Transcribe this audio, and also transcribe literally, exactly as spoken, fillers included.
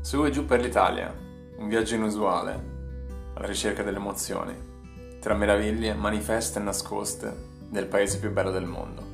Su e giù per l'Italia, un viaggio inusuale, alla ricerca delle emozioni, tra meraviglie manifeste e nascoste del paese più bello del mondo.